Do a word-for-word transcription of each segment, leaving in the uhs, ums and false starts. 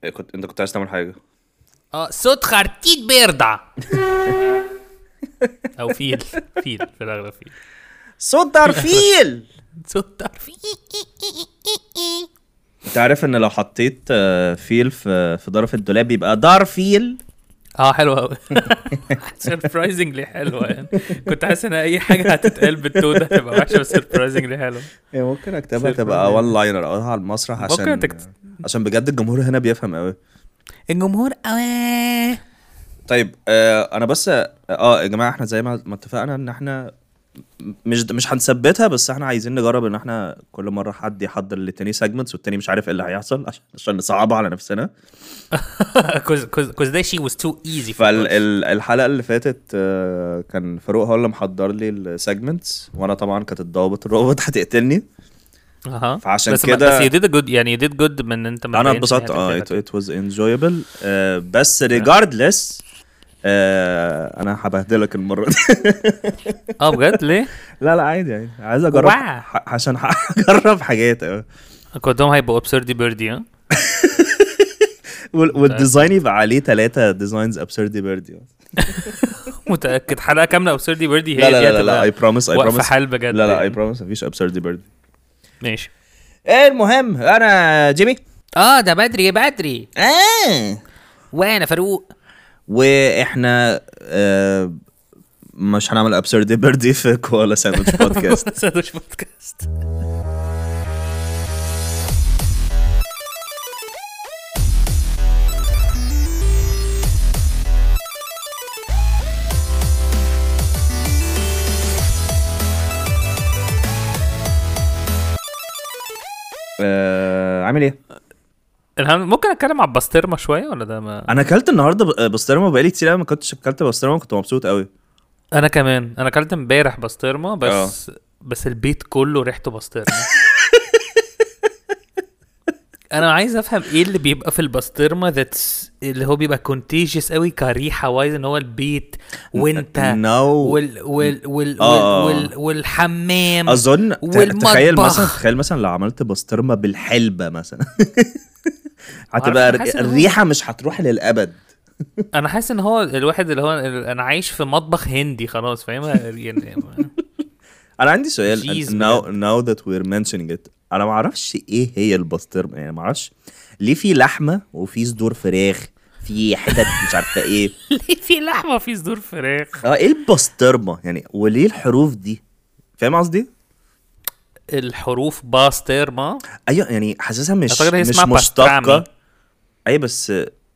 كنت انت كنت عايز تعمل حاجه؟ اه صوت خرتيت بيرضع. او فيل فيل في الاغلب فيل. صوت دارفيل. صوت دارفيل. انت عارف ان لو حطيت آه، فيل في في ظرف الدولاب يبقى دارفيل. اه حلوه قوي. سربرايزنجلي حلوه يعني. كنت حاسس ان اي حاجه هتتقال بالتو ده تبقى وحشه بس سربرايزنجلي حلوه. ممكن اكتبها تبقى وان لاينر اقولها على المسرح عشان تكت... عشان بجد الجمهور هنا بيفهم قوي. الجمهور قوي. طيب آه انا بس اه يا جماعه احنا زي ما ما اتفقنا ان احنا مش مش هنثبتها، بس احنا عايزين نجرب ان احنا كل مره حد يحضر للتاني سيجمنتس والتاني مش عارف ايه اللي هيحصل عشان عشان نصعبها على نفسنا. كوز كوز كوز ده شي was too easy. فالحلقه اللي فاتت آه كان فاروق هو اللي محضر لي السيجمنتس، وانا طبعا كانت الضوابط الروبوت هتقتلني. اها فعشان بس كده بس you did a good يعني you did good من انت انا اتبسطت. اه it, it was enjoyable. آه بس regardless آه انا هبهدلك المره دي. اه بجد ليه؟ لا لا عادي يعني عايز اجرب ح- عشان هجرب حاجات. اه كلهم هيبقوا ابسردي بيردي. ها والديزاين يبقى عليه ثلاثة ديزاينز ابسردي بيردي. متاكد حلقه كامله ابسردي بيردي؟ لا لا لا لا اي بروميس اي بروميس حال بجد. لا لا اي بروميس مفيش ابسردي بيردي. ماشي. المهم انا جيمي. اه ده بدري بدري. اه وانا فاروق. واحنا آه مش هنعمل ابسردي بيردي في كوالا ساندويتش بودكاست. ساندويتش بودكاست. آه عامل ايه؟ ممكن اتكلم على البسطرمه شويه ولا ده ما... انا اكلت النهارده بسطرمه بقالي كتير قوي ما كنتش اكلت بسطرمه، كنت مبسوط قوي. انا كمان انا اكلت امبارح بسطرمه بس أوه. بس البيت كله ريحته بسطرمه. انا عايز افهم ايه اللي بيبقى في البسطرمه ذاتس اللي هو بيبقى كونتيجيوس قوي كريحه وايز ان هو البيت وانت no. وال وال وال, آه. وال, وال والحمام اظن. والمطبخ. تخيل مثلا تخيل مثلا لو عملت بسطرمه بالحلبه مثلا. هتبقى الريحه مش هتروح للابد. انا حاسس ان هو الواحد اللي هو انا عايش في مطبخ هندي خلاص فاهم يعني. انا عندي سؤال. now, now that we're mentioning it انا ما اعرفش ايه هي البسطرمه يعني. ما اعرفش ليه في لحمه وفي صدور فراخ في حتت مش عارفه ايه. ليه في لحمه وفي صدور فراخ؟ اه ايه البسطرمه يعني؟ وليه الحروف دي؟ فاهم قصدي؟ الحروف باسترما. ايوه يعني حاسسها مش مش مشتقه. اي بس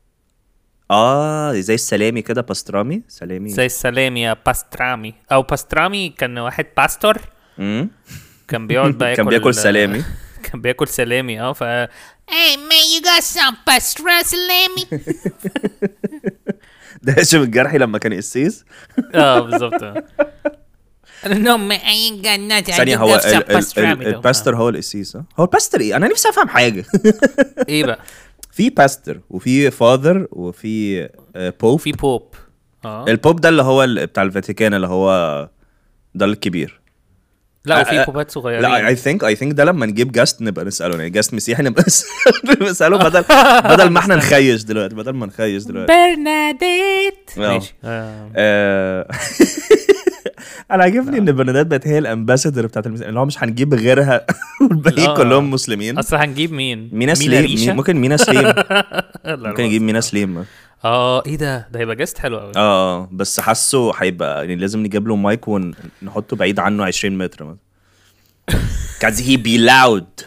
اه زي السلامي كده باسترامي. سلامي زي السلامي يا باسترامي او باسترامي. كان واحد باستور امم كان بيقعد بقى كان بياكل سلامي. كان بياكل سلامي اه ف Hey man you got some pastra سلامي. ده هاشم الجرحي لما كان قسيس. اه بالظبط. No man I ain't got nothing. ثانية هو الباستر هو القسيس. هو الباستر ايه؟ انا نفسي افهم حاجة. ايه بقى؟ في باستر وفي فاذر وفي بوب. في بوب. اه البوب ده اللي هو بتاع الفاتيكان اللي هو ده الكبير. لا وفي بوبات صغيرين. لا I think I think ده لما نجيب جاست نبقى نسأله يعني جاست مسيحي نبقى نسأله بدل بدل ما احنا نخيش دلوقتي بدل ما نخيش دلوقتي. برناديت. ماشي. انا عاجبني ان برناديت بقت هي الامباسادور بتاعت المسيحيين اللي هو مش هنجيب غيرها والباقيين كلهم مسلمين. اصلا هنجيب مين؟ مينا سليم. ممكن مينا سليم. ممكن نجيب مينا سليم. اه ايه ده ده هيبقى جاست حلو قوي. اه بس حاسه هيبقى يعني لازم نجيب له مايك ونحطه بعيد عنه عشرين متر مثلا. cause he be loud.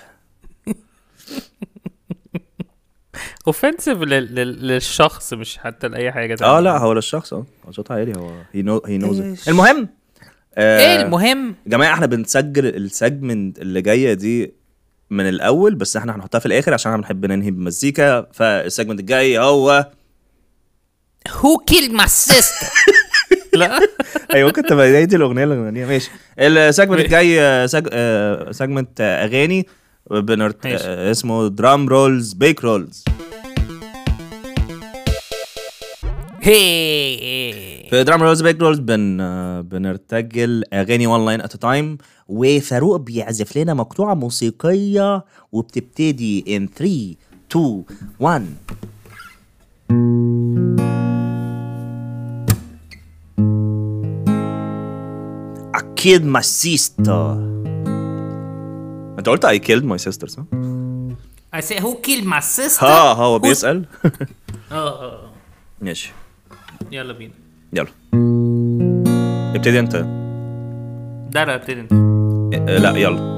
اوفنسيف للشخص مش حتى لاي حاجه تانية. اه لا هو للشخص. اه صوتها عالي. هو he know he knows it. المهم آه ايه المهم يا جماعه احنا بنسجل السيجمنت اللي جايه دي من الاول بس احنا هنحطها في الاخر عشان احنا بنحب ننهي بمزيكا. فالسيجمنت الجاي هو Who killed my sister. لا ايوه ممكن تبقى دي الاغنيه اللي غنيها. ماشي. السيجمنت الجاي سيجمنت اغاني بنرت... اسمه درام رولز بيك رولز. هي في درام رولز بيك رولز بن بنرتجل اغاني وان لاين ات تايم وفاروق بيعزف لنا مقطوعه موسيقيه وبتبتدي in three two one. killed my sister. انت قلت I killed my sister صح؟ I say who killed my sister. ها هو بيسأل. اه اه ماشي يلا بينا. يلا ابتدي انت. ده لا ابتدي انت. اه لا يلا.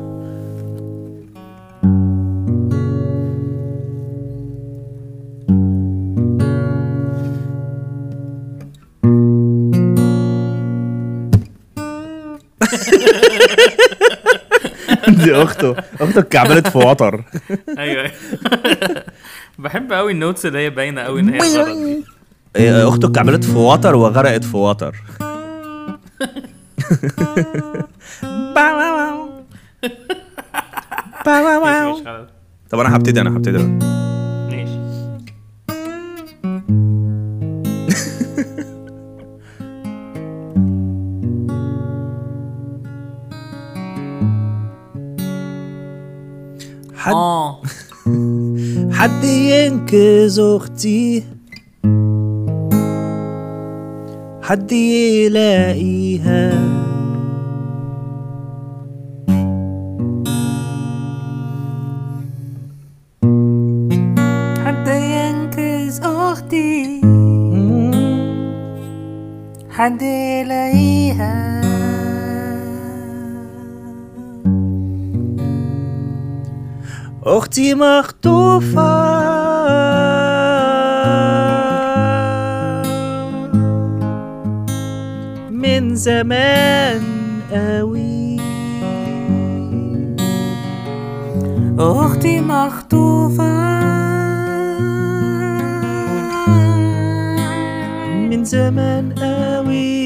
دي اخته اخته اتكعبلت في وتر. ايوه بحب قوي النوتس اللي هي باينه قوي ان هي غلط دي. اخته اتكعبلت في وتر وغرقت في وتر. مش غلط. طب انا هبتدي انا هبتدي انا. ماشي. حد اه حد ينقذ اختي، حد يلاقيها، حد ينقذ اختي، حد يلاقيها. اختي مخطوفة من زمان قوي، اختي مخطوفة من زمان قوي،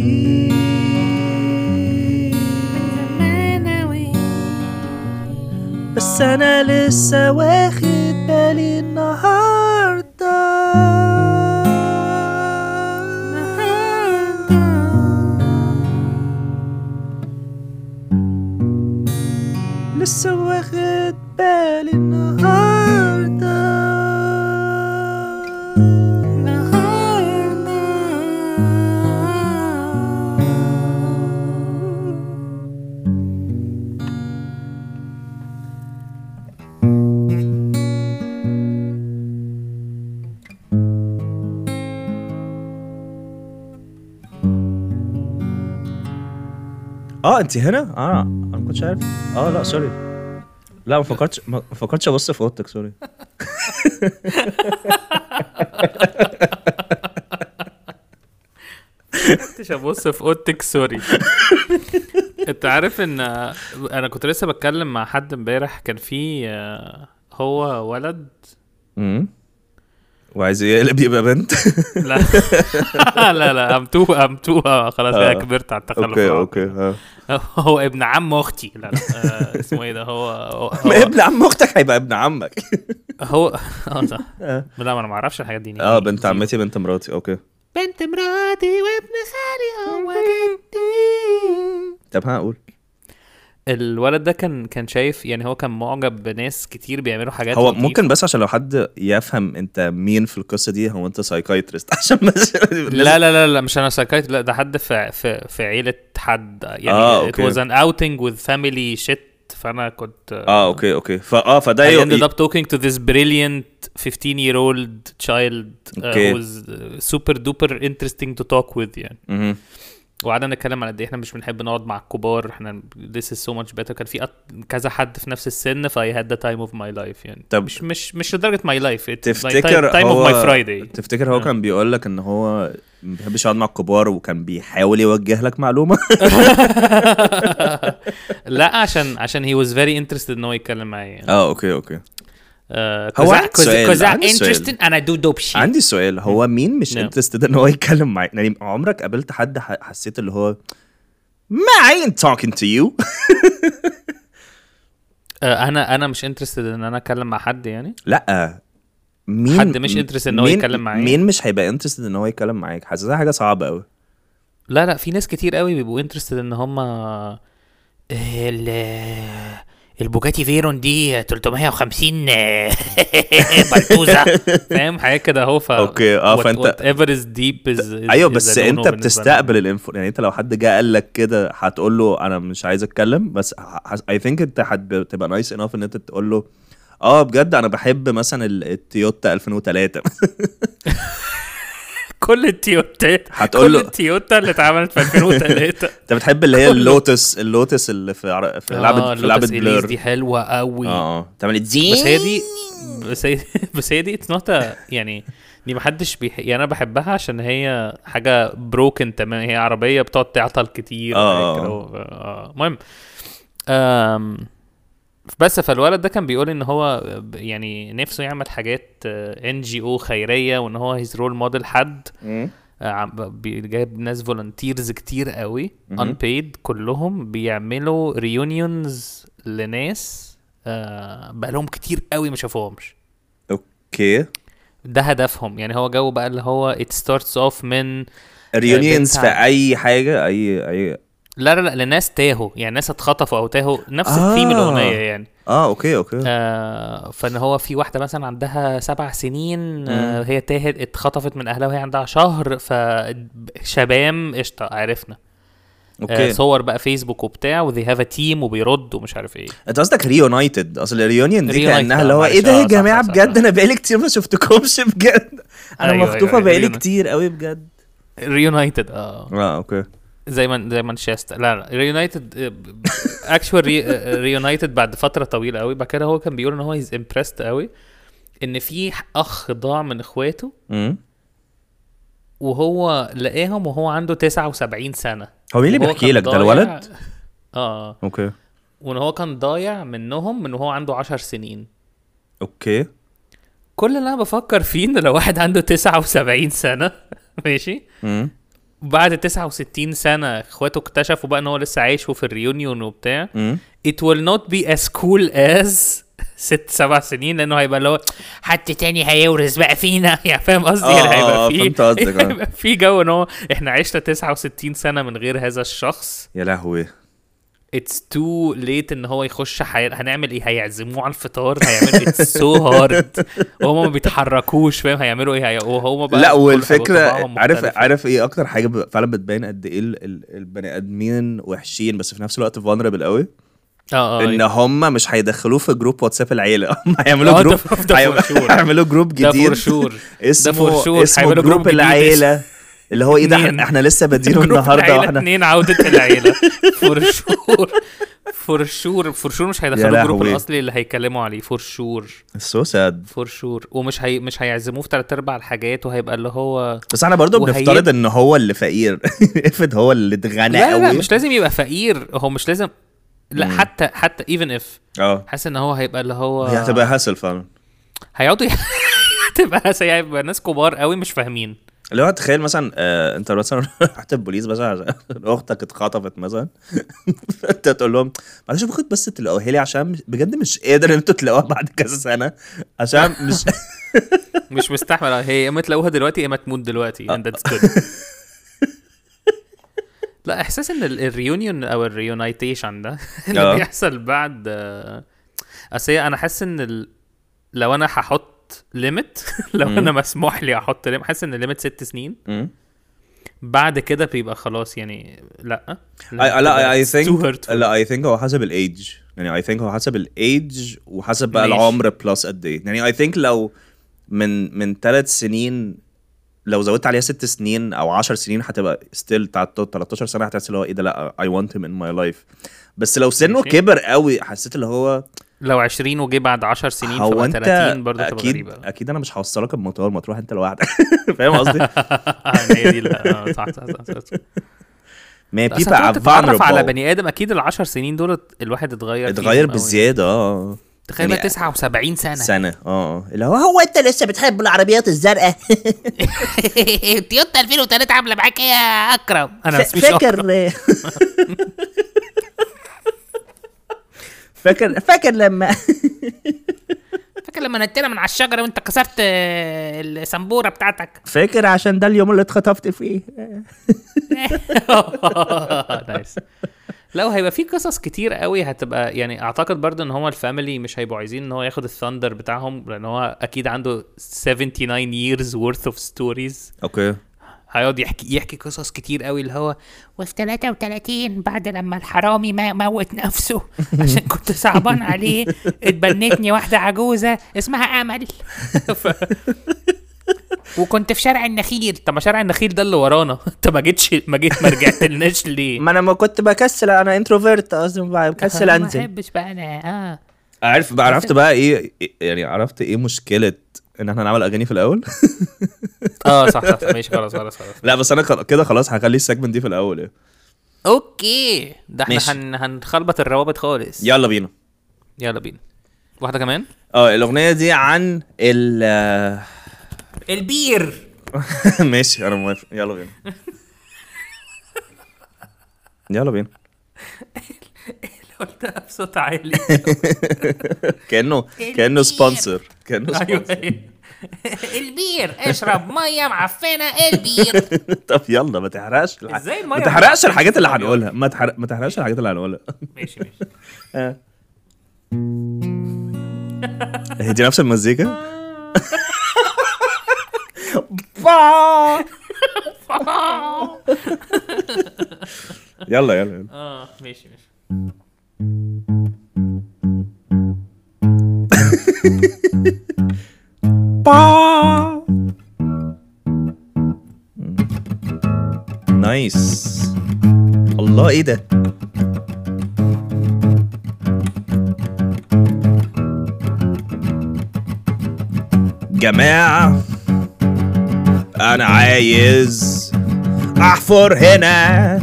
بس انا لسه واخد بالي النهارده، لسه واخد بالي النهارده، اه انت هنا؟ اه انا ما كنتش عارف. اه لا سوري، لا ما فكرتش ما فكرتش ابص في اوضتك سوري. كنتش ابص في اوضتك سوري. انت عارف ان انا كنت لسه بتكلم مع حد امبارح، كان في هو ولد امم وعايز يقلب يبقى بنت. لا لا لا امتوه امتوه خلاص انا كبرت على التخلف. اوكي اوكي هو ابن عم اختي. لا لا آه اسمه ايه ده؟ هو, هو, هو ابن عم اختك هيبقى ابن عمك. هو اه صح. لا ما انا ما اعرفش الحاجات دي. اه بنت عمتي بنت مراتي. اوكي بنت مراتي وابن خالي هو جدي. طب هقول الولد ده كان كان شايف يعني، هو كان معجب بناس كتير بيعملوا حاجات هو لطيفة. ممكن بس عشان لو حد يفهم انت مين في القصه دي، هو انت سايكايترست عشان بس لا لا لا لا مش انا سايكايت، لا ده حد في في في عيله حد يعني. آه، it was an outing with family shit. فانا كنت اه اوكي اوكي فاه فده I ended up talking to this brilliant fifteen year old child uh, okay. who was super duper interesting to talk with يعني. اها وقعدنا نتكلم عن قد ايه احنا مش بنحب نقعد مع الكبار، احنا this is so much better. كان في كذا حد في نفس السن ف I had the time of my life يعني. طب مش مش مش لدرجه my life. تفتكر time هو of my Friday. تفتكر هو كان بيقول لك ان هو ما بيحبش يقعد مع الكبار وكان بيحاول يوجه لك معلومه؟ لا عشان عشان he was very interested ان هو يتكلم معايا يعني. اه اوكي اوكي هو عندي سؤال عندي سؤال انا دو دوب شيت. عندي سؤال هو مين مش انترستد ان هو يتكلم معاك؟ يعني عمرك قابلت حد حسيت اللي هو ما I ain't talking to you؟ انا انا مش انترستد ان انا اتكلم مع حد يعني. لا مين حد مش انترستد ان هو يتكلم معايا؟ مين مش هيبقى انترستد ان هو يتكلم معاك؟ حاسسها حاجه صعبه قوي. لا لا في ناس كتير قوي بيبقوا انترستد ان هم البوجاتي فيرون دي تلتمية وخمسين بلتوزه، فاهم حاجه كده اهو. ف اوكي اه فانت ever is deep is, is ايوه is بس a no-no انت بالنسبة بتستقبل لنا. الانفو يعني. انت لو حد جه قال لك كده هتقول له انا مش عايز اتكلم، بس اي ثينك انت هتبقى نايس انف ان انت تقول له اه بجد انا بحب مثلا ال- التويوتا ألفين وثلاثة. كل التويوتات هتقول كل له التويوتا اللي اتعملت في ألفين وثلاثة. انت بتحب اللي هي كله. اللوتس اللوتس اللي في عر... في لعبه في لعبه اللوتس إليس بلور. دي حلوه قوي. اه اه تعمل زين. بس هي دي بس هي بس هي دي اتس نوت يعني دي محدش بيح... يعني انا بحبها عشان هي حاجه بروكن تمام، هي عربيه بتقعد تعطل كتير آه. وحاجات كده و- آه. المهم أم... بس فالولد ده كان بيقول ان هو ب- يعني نفسه يعمل حاجات ان جي او خيريه، وان هو هيز رول موديل حد مم. آه، عم- بي- جايب ناس فولنتيرز كتير قوي مهم. unpaid كلهم بيعملوا ريونيونز لناس آه، بقالهم كتير قوي ما شافوهمش. اوكي ده هدفهم يعني. هو جو بقى اللي هو it starts off من ريونيونز في بنت- اي حاجه اي اي لا لا لا لناس تاهوا، يعني ناس اتخطفوا او تاهوا، نفس آه. الثيم الاغنيه يعني. اه اوكي اوكي آه فان هو في واحده مثلا عندها سبع سنين آه هي تاهت اتخطفت من اهلها وهي عندها شهر، فشبام قشطه عرفنا. آه اوكي صور بقى فيسبوك وبتاع وذي هاف ا تيم وبيرد ومش عارف ايه. انت قصدك ريونايتد؟ اصل الريونيون دي Reunited، كانها آه، اللي هو معلش، ايه ده آه، يا صح، جماعه صح، صح، بجد صح. انا بقالي كتير ما شفتكمش بجد. انا أيوة، مخطوفه أيوة، بقالي reunited. كتير قوي بجد. ريونايتد اه اه اوكي زي ما زي مانشستر. لا لا ريونايتد اكشوال ريونايتد بعد فتره طويله قوي. بعد كده هو كان بيقول ان هو هيز امبرست قوي ان في اخ ضاع من اخواته امم وهو لقاهم وهو عنده تسعة وسبعين سنه. هو مين اللي وهو بيحكي كان لك ده؟ ضايع- الولد؟ اه اوكي وان هو كان ضايع منهم من وهو عنده عشر سنين. اوكي كل اللي انا بفكر فيه ان لو واحد عنده تسعة وسبعين سنه ماشي امم بعد تسعة وستين سنه اخواته اكتشفوا بقى ان هو لسه عايش في الريونيون وبتاع، امم it will not be as cool as ست سبع سنين، لانه هيبقى اللي هو حد تاني هيورث بقى فينا يعني فاهم قصدي؟ آه، آه، هيبقى فهمت فيه قصدك، آه. هيبقى في جو ان هو احنا عشنا تسعة وستين سنه من غير هذا الشخص. يا لهوي it's too late ان هو يخش حي... هنعمل ايه؟ هيعزموه على الفطار، هيعملوا it's so hard وهم ما بيتحركوش فاهم هيعملوا ايه؟ هي... وهو بقى لا كل والفكره طباعهم عارف مختلفة. عارف ايه اكتر حاجه ب- فعلا بتبين قد ايه ال- ال- البني ادمين وحشين بس في نفس الوقت vulnerable قوي؟ اه اه ان أيوة. هم مش هيدخلوه في جروب واتساب العيله. هم آه، هيعملوا ده- جروب ده هيعملوا- for sure. هيعملوا جروب ده جديد for sure. اسمه for sure. اسمه هيعملوا جروب جروب جديد العيله اللي هو ايه ده؟ اتنين. احنا احنا لسه بادينه جروب النهارده العيلة واحنا اتنين عودة العيلة فور شور فور شور فور شور مش هيدخلوا الجروب لهوي. الاصلي اللي هيكلموا عليه فور شور سو ساد. فور شور ومش هي مش هيعزموه في تلات ارباع الحاجات وهيبقى اللي هو بس احنا برضو وهي- بنفترض ان هو اللي فقير. افرض هو اللي اتغنى لا لا, لا قوي. مش لازم يبقى فقير، هو مش لازم لا مم. حتى حتى even if اه حاسس ان هو هيبقى اللي هو هي هتبقى هاسل فعلا. هيقعدوا هتبقى هيبقى ناس كبار قوي مش فاهمين. اللي هو تخيل مثلا آه انت مثلا رحت البوليس مثلا عشان اختك اتخطفت مثلا. انت تقول لهم معلش باخد بس تلاقوها لي عشان مش- بجد مش قادر ان انتوا تلاقوها بعد كذا سنه عشان مش مش مستحمل هي اما تلاقوها دلوقتي يا اما تموت دلوقتي and that's good. لا احساس ان ال- الريونيون او الريونايتيشن ده اللي آه. بيحصل بعد آه، اصل هي انا حاسس ان ال... لو انا هحط ليميت لو مم. انا مسموح لي احط ليميت، حاسس ان الليميت ست سنين مم. بعد كده بيبقى خلاص يعني لا I- لا اي It's too ثينك hurtful. لا اي ثينك هو حسب الايدج يعني اي ثينك هو حسب الايدج وحسب بقى ماشي. العمر بلس قد ايه يعني اي ثينك لو من من ثلاث سنين لو زودت عليها ست سنين او عشر سنين هتبقى ستيل بتاع تلتاشر سنه هتحس اللي هو ايه ده لا I want him in my life. بس لو سنه ماشي. كبر قوي حسيت اللي هو لو عشرين وجي بعد عشر سنين هو فبقى انت تلاتين برضه تبقى اكيد غريبة. اكيد انا مش هوصلك المطار ما تروح انت لوحدك. فاهم قصدي؟ هي دي لا آه، صح صح صح, صح. ما أصل people هتقعد are تتعرف على vulnerable. بني ادم اكيد العشر سنين دول الواحد اتغير فيهم اتغير أوي. بزياده اه تخيل بقى يعني تسعة وسبعين سنة سنه اه اه اللي هو هو انت لسه بتحب العربيات الزرقاء؟ تويوتا ألفين وتلاتة عامله معاك ايه يا اكرم؟ انا بس مش أكرم. فاكر فاكر فاكر لما فاكر لما نطينا من على الشجره وانت كسرت آه، السمبوره بتاعتك. فاكر عشان ده اليوم اللي اتخطفت فيه. نايس. لو هيبقى في قصص كتير قوي هتبقى يعني اعتقد برضه ان هو الفاميلي مش هيبقوا عايزين ان هو ياخد الثاندر بتاعهم لان هو اكيد عنده سبعة وسبعين years worth of stories. اوكي هيقعد يحكي يحكي قصص كتير قوي اللي هو وفي ثلاثة وثلاثين بعد لما الحرامي ما موت نفسه عشان كنت صعبان عليه اتبنتني واحدة عجوزة اسمها أمل ف... وكنت في شارع النخيل. طب ما شارع النخيل ده اللي ورانا انت ما جيتش ما جيت ما رجعت لناش ليه؟ ما انا ما كنت بكسل، انا انتروفيرت اصلا بكسل ما انزل. بحبش بقى انا اه عارف بقى، عرفت بقى ايه يعني، عرفت ايه مشكله ان احنا نعمل اغاني في الاول. اه صح صح ماشي خلاص خلاص خلاص. لا بس انا خل- كده خلاص هخلي السيجمنت دي في الاول يعني. اوكي ده احنا ماشي. هن... هنخلبط الروابط خالص. يلا بينا. يلا بينا واحده كمان. اه الاغنيه دي عن ال البير. ماشي انا موافق، يلا بينا. يلا بينا. قلتها بصوت عالي. كانه كانه سبونسر، كانه ايوه سبونسر. البير اشرب ميه معفنه البير. طب يلا ما تحرقش الح... ازاي المية ما تحرقش معفنة الحاجات اللي بتبقى هنقولها، ما تحرق ما تحرقش الحاجات اللي هنقولها. ماشي ماشي. آه. هي دي نفس المزيكا. يلا يلا يلا. اه ماشي ماشي. نايس. الله ايه ده؟ جماعة انا عايز احفر هنا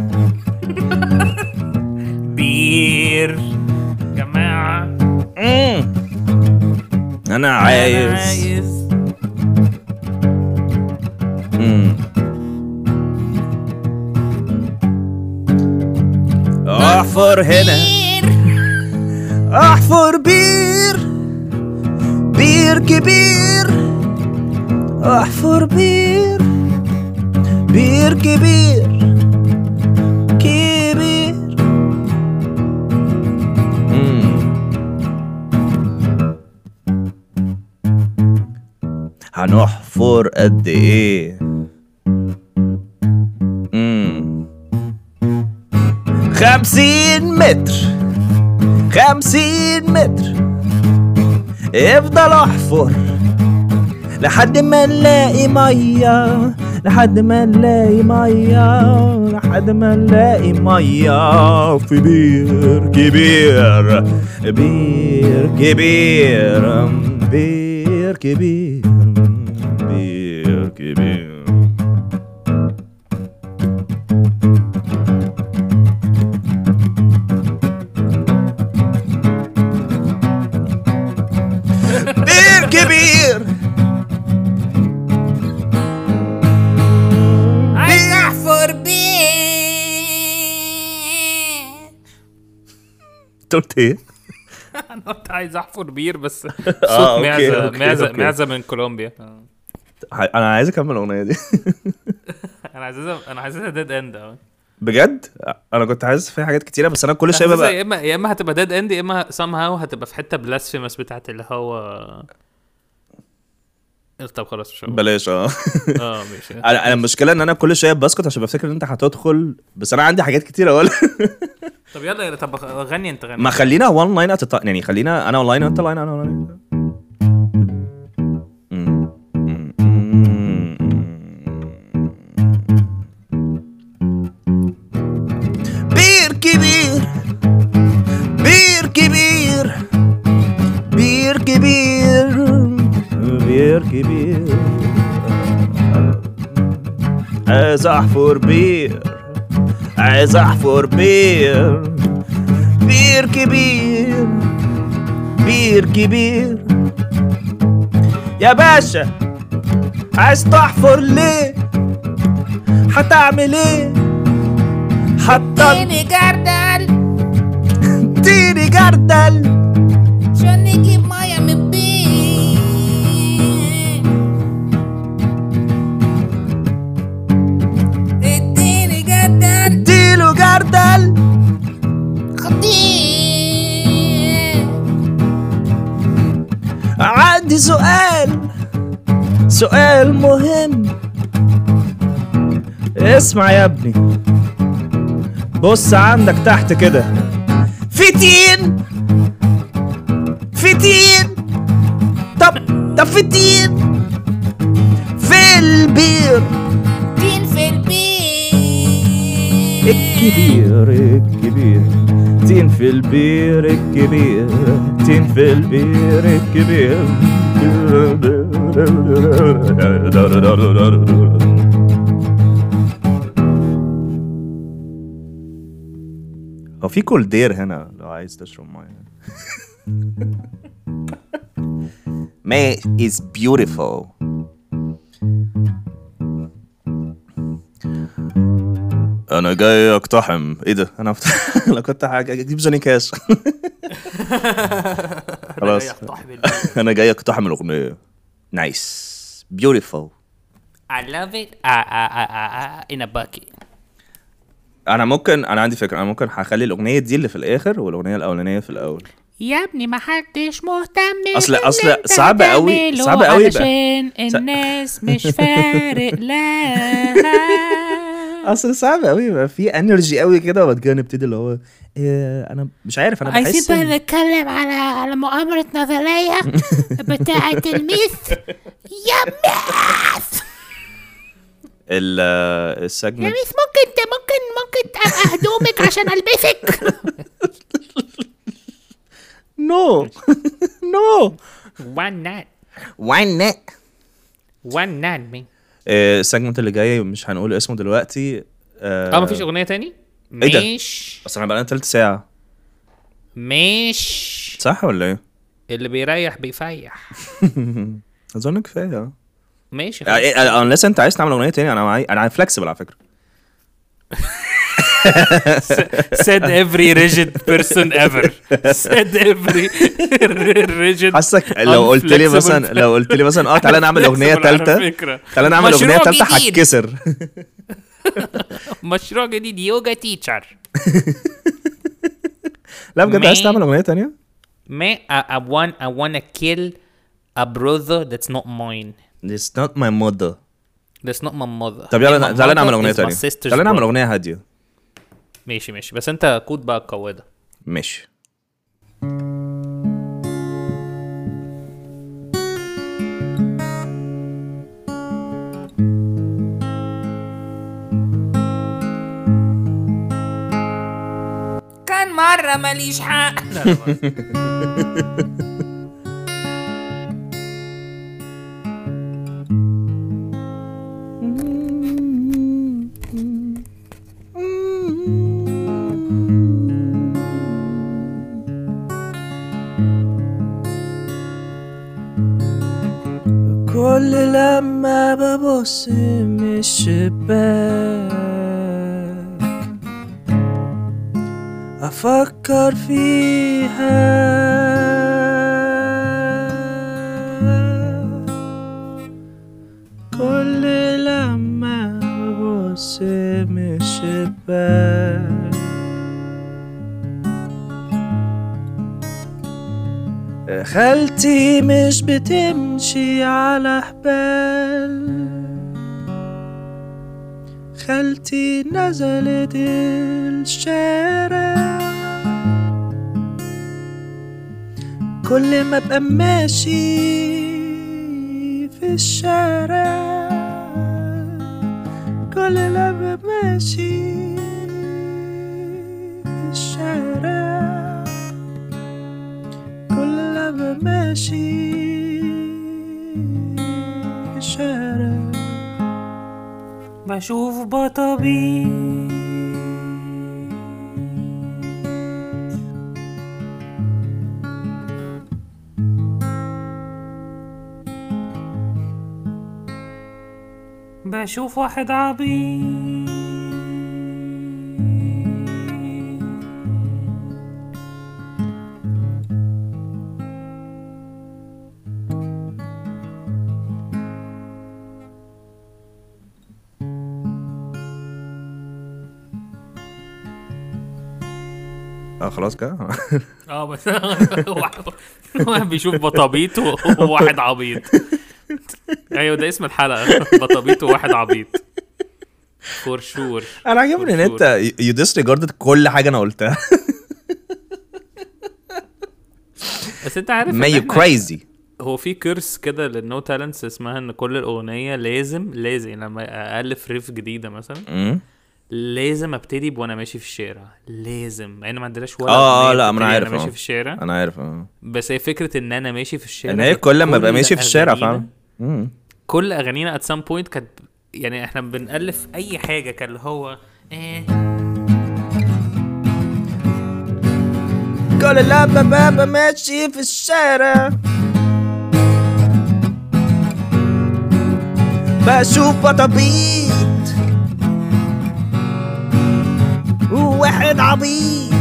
بير جماعه. مم. انا عايز, عايز. مم. احفر هنا، احفر بير، بير كبير، احفر بير، بير كبير كبير. مم. هنحفر قد ايه؟ مم. خمسين متر، خمسين متر. افضل احفر لحد ما نلاقي ميه، لحد ما نلاقي ميه، لحد ما نلاقي ميه في بير كبير، بير كبير، بير كبير، بير كبير. بير كبير، عايز احفر بير. قلت ايه؟ انا كنت عايز احفر بير بس آه، صوت أوكي، معزه أوكي، معزه أوكي. معزه من كولومبيا. انا عايز اكمل الاغنيه دي. انا عايزها انا عايزها ديد اند اهو. بجد انا كنت عايز في حاجات كتيره بس انا كل شويه حاسسها ببقى يا اما يا اما هتبقى ديد اند يا اما somehow هتبقى في حته بلاسفيمس بتاعت اللي هو. طب خلاص مش هقول. بلاش. اه اه ماشي. انا انا المشكله ان انا كل شويه بسكت عشان بفتكر ان انت هتدخل، بس انا عندي حاجات كتير اقول. طب يلا يلا طب غني انت غني. ما خلينا وان لاين ات يعني، خلينا انا اون لاين وانت لاين انا لاين. بير كبير، بير كبير، بير كبير، بير كبير. عايز احفر بير، عايز احفر بير، بير كبير، بير كبير. يا باشا عايز تحفر ليه؟ هتعمل ايه؟ حتى اديني جردل اديني جردل عشان نجيب ميه من البير. اديني جردل اديله جردل سؤال مهم، اسمع يا ابني، بص عندك تحت كده في تين، في تين، طب طب في تين في البير، تين في البيت الكبير الكبير، تين في البير الكبير، تين في البير الكبير. هو في كولدير هنا لو عايز تشرب ميه. May is beautiful. انا جاي اقتحم. ايه ده؟ انا فتح... انا كنت حاجه اجيب جوني كاش. خلاص انا جاي اقتحم الاغنيه. نايس beautiful. I love it uh, uh, uh, uh, in a bucket. انا ممكن انا عندي فكره، انا ممكن هخلي الاغنيه دي اللي في الاخر والاغنيه الاولانيه في الاول. يا ابني ما حدش مهتم اصل باللي اصل انت صعب قوي بتعمله صعب قوي بقى علشان الناس مش فارق لها. اصل صعب قوي يبقى في انرجي قوي كده وبعد كده نبتدي اللي هو إيه، انا مش عارف، انا عايزين بحس بقى إن... نتكلم على على مؤامرة نظرية بتاعة الميث يا ميث ال يا السجمنت. ميث ممكن ت- ممكن ممكن تبقى هدومك عشان البسك. نو نو one night واي نت. one night me. السجمنت اللي جاي مش هنقول اسمه دلوقتي. اه مفيش اغنيه تاني. إيه ده؟ مش اصل انا بقى تلت ساعه مش صح ولا ايه؟ اللي بيريح بيفيح. اظن كفايه. ماشي unless انت عايز تعمل اغنيه تاني انا معاي، انا فلكسبل على فكره. said every rigid person ever said every rigid. حاسك لو قلت لي مثلا لو قلت لي مثلا اه تعالى نعمل اغنيه ثالثه، تعالى نعمل اغنيه مشروع ثالثه جديد. هتكسر. مشروع جديد يوجا تيتشر. لا بجد عايز Man. تعمل اغنيه تانية؟ Man, I, I want I want to kill a brother that's not mine. It's not my mother. That's not my mother. طب And يلا my تعالى نعمل mother اغنيه is my تانية، sister's تعالى نعمل brother. اغنيه هاديه. ماشي ماشي بس انت كود بقى القوادة. ماشي. كان مرة ماليش حق. كل لما ببص من الشباك أفكر فيها، كل لما ببص من الشباك خالتي مش بتمشي على حبال، خالتي نزلت الشارع، كل ما ابقى ماشي في الشارع، كل ما ابقى ماشي في الشارع، كل لما ماشي في الشارع بشوف بطبيب بشوف واحد عبيط اه خلاص كده. اه بس واحد واحد بيشوف بطابيط وواحد عبيط. ايوه ده اسم الحلقه. بطبيط وواحد عبيط فور شور. انا عجبني ان انت يو ديسريجاردد كل حاجه انا قلتها. بس انت عارف ما يو كريزي. هو في كيرس كده للنو تالنتس اسمها ان كل الاغنيه لازم لازم لما الف ريف جديده مثلا لازم ابتدي وانا ماشي في الشارع. لازم لان يعني ما عندناش ولا اه لا انا عارف انا ماشي في الشارع. انا عارف اه بس هي فكره ان انا ماشي في الشارع ان هي كل ما ابقى ماشي في الشارع فاهم. كل اغانينا at some point كانت يعني احنا بنالف اي حاجه كان اللي هو ايه كل لما بابا ماشي في الشارع بشوف بطبيط وواحد عبيط.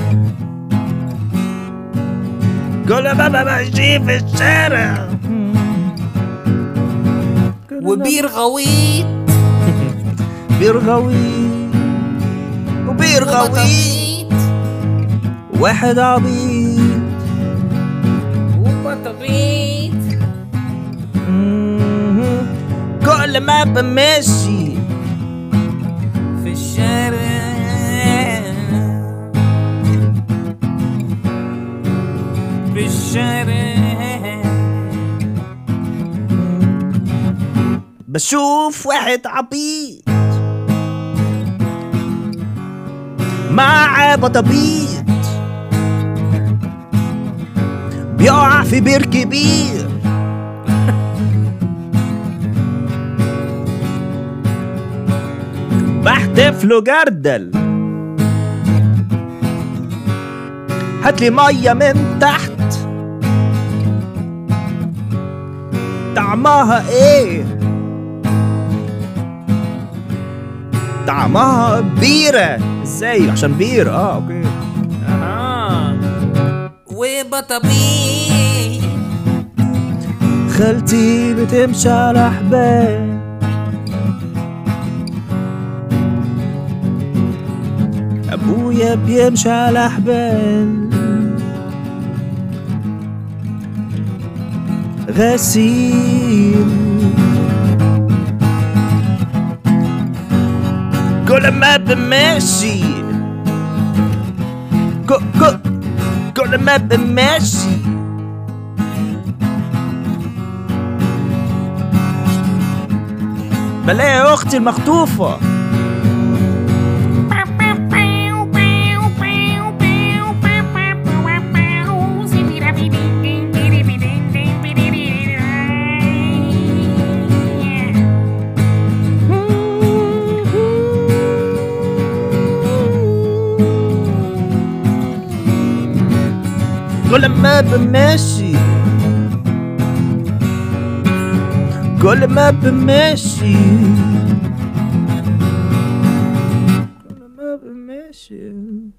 كل بابا ماشي في الشارع وبير غويط بير غويط وبير غويط واحد عبيط وبطبيط. كل ما بمشي في الشارع في الشارع بشوف واحد عبيط مع بطبيط بيقع في بير كبير بحتف له جردل هاتلي مية من تحت طعمها ايه طعمها بيرة ازاي عشان بير اه اوكي اه وبطبيط. خالتي بتمشي على حبال ابويا بيمشي على حبال غسيل كل ما بمشي كل ما بمشي بلاقي اختي المخطوفة كل ما بمشي كل ما بمشي كل ما بمشي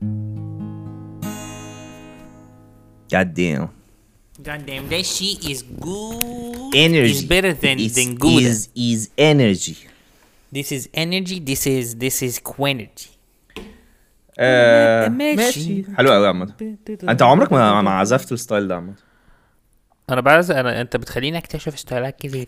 God damn. God damn, that shit is good. Energy. It's better than It's, than good. Is is energy. This is energy. This is this is quenergy. آه ماشي. حلو قوي عامة. انت عمرك ما ما عزفت الستايل ده عامة؟ انا بعز انا انت بتخليني اكتشف ستايلات جديدة.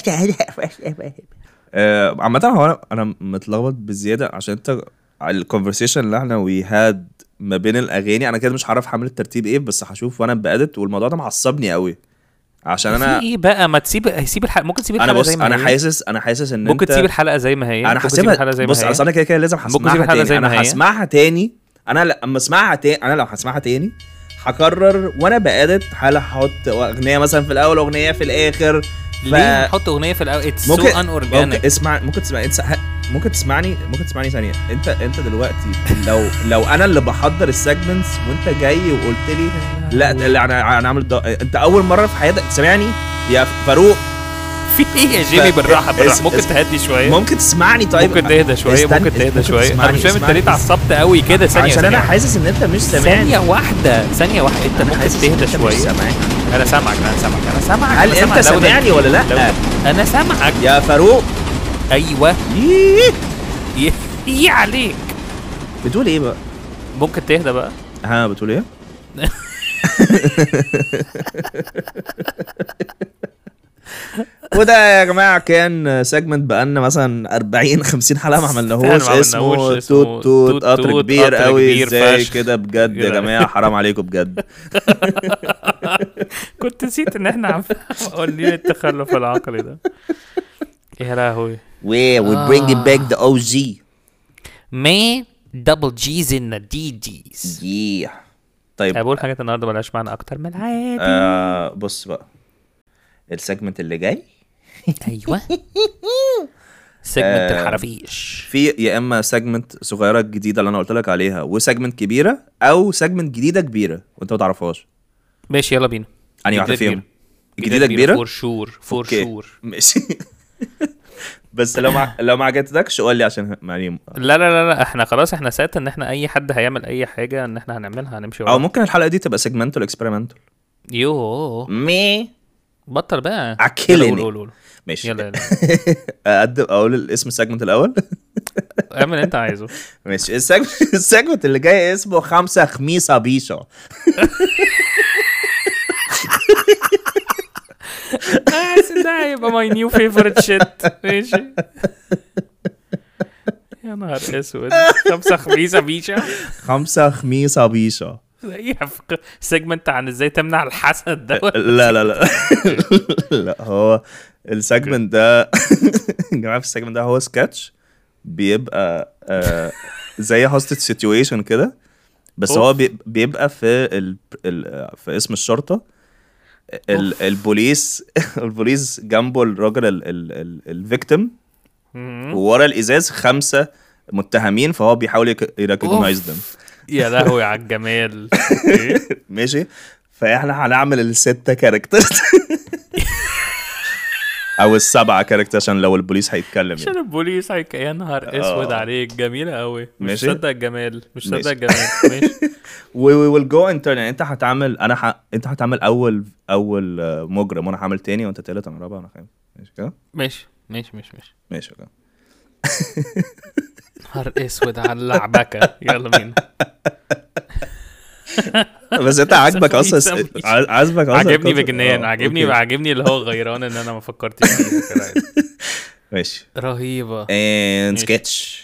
آه عامة هو انا انا متلخبط بزيادة عشان انت الكونفرسيشن اللي احنا وي هاد ما بين الاغاني انا كده مش عارف حمل الترتيب ايه بس هشوف وانا بقدت والموضوع ده معصبني قوي عشان انا في ايه بقى ما تسيب هيسيب الحلقه ممكن تسيب الحلقه انا بص زي ما انا هي. حاسس انا حاسس ان ممكن انت تسيب الحلقه زي ما هي انا حاسبها بص اصل انا كده كده لازم هسمعها تاني انا هسمعها تاني انا لما اسمعها تاني انا لو هسمعها تاني هقرر وانا بقادت هل هحط اغنيه مثلا في الاول اغنيه في الاخر ف... ليه نحط اغنيه في الاول اتس سو ان اورجانيك اسمع ممكن تسمع انت ممكن تسمعني ممكن تسمعني ثانيه انت انت دلوقتي لو لو انا اللي بحضر السيجمنتس وانت جاي وقلت لي لا انا انا عامل انت اول مره في حياتك سمعني يا فاروق في ايه يا جيمي بالراحه بالراحه ممكن تهدي شويه ممكن تسمعني طيب ممكن تهدى شويه ممكن تهدى شويه انا مش فاهم انت ليه اتعصبت قوي كده ثانيه عشان انا حاسس ان انت مش سامعني ثانيه واحده ثانيه واحده انت ممكن تهدى شويه انا سامعك انا سامعك انا سامعك هل انت سامعني ولا لا انا سامعك يا فاروق ايوه ايه ايه عليك بتقول ايه بقى ممكن تهدى بقى ها بتقول ايه وده يا جماعه كان سيجمنت بقالنا مثلا أربعين خمسين حلقه ما عملناهوش، اسمه توت توت قطر كبير قوي ازاي كده بجد يا جماعه، حرام عليكم بجد. كنت نسيت ان احنا عم اقول لي التخلف العقلي ده. يا لهوي. We we bringing back the أو جي. Man, double G's in the D G's. Yeah. طيب بقول حاجات النهارده بلاش معنى اكتر من العادي. آه بص بقى السيجمنت اللي جاي. ايوه. سيجمنت الحرافيش. في يا اما سيجمنت صغيره جديده اللي انا قلت لك عليها، وسيجمنت كبيره، او سيجمنت جديده كبيره وانت ما تعرفهاش. ماشي يلا بينا. انهي واحده فيهم؟ جديده كبيره فور شور فور شور. ماشي. بس لو ما لو ما عجبتكش قول لي عشان يعني. لا لا لا لا احنا خلاص احنا سات ان احنا اي حد هيعمل اي حاجه ان احنا هنعملها هنمشي وراه. او ممكن الحلقه دي تبقى سيجمنتال اكسبيرمنتال. يو مي بطل بقى اكلني. قول قول ماشي يلا يلا. اقدم اقول الاسم السيجمنت الاول. اعمل انت عايزه. ماشي. السيجمنت السيجمنت اللي جاي اسمه خمسة خميسة بيشا. اه ده هيبقى ماي نيو فيفورت شيت. ماشي. يا نهار اسود. خمسة خميسة بيشا. خمسة خميسة بيشا. زيها في سيجمنت عن ازاي تمنع الحسد ده. لا لا لا. لا هو السيجمنت ده يا جماعه، في السيجمنت ده هو سكتش بيبقى آه زي هوستد سيتويشن كده، بس هو بيبقى في ال ال في اسم الشرطه. ال البوليس البوليس جنبه الراجل الفيكتيم، وورا الازاز خمسه متهمين، فهو بيحاول يريكوجنايز ذم. يا لهوي على الجمال. ماشي. فاحنا هنعمل الستة كاركتر او السبعة كاركتر عشان لو البوليس هيتكلم عشان يعني. البوليس هيك. يا نهار اسود عليك، جميلة قوي. مش صدق الجمال، مش صدق الجمال. ماشي. we will go in turn. يعني انت هتعمل انا ح... انت هتعمل اول اول مجرم، وانا هعمل تاني، وانت تالت، وانا رابع، وانا خامس. ماشي كده. ماشي ماشي ماشي ماشي ماشي كده. نهار اسود على اللعبكة. يلا بينا. بس انت عاجبك اصلا، عاجبك اصلا. عجبني بجنان، عجبني عجبني اللي هو غيران ان انا ما فكرتش فيها كده. ماشي. رهيبة. and sketch.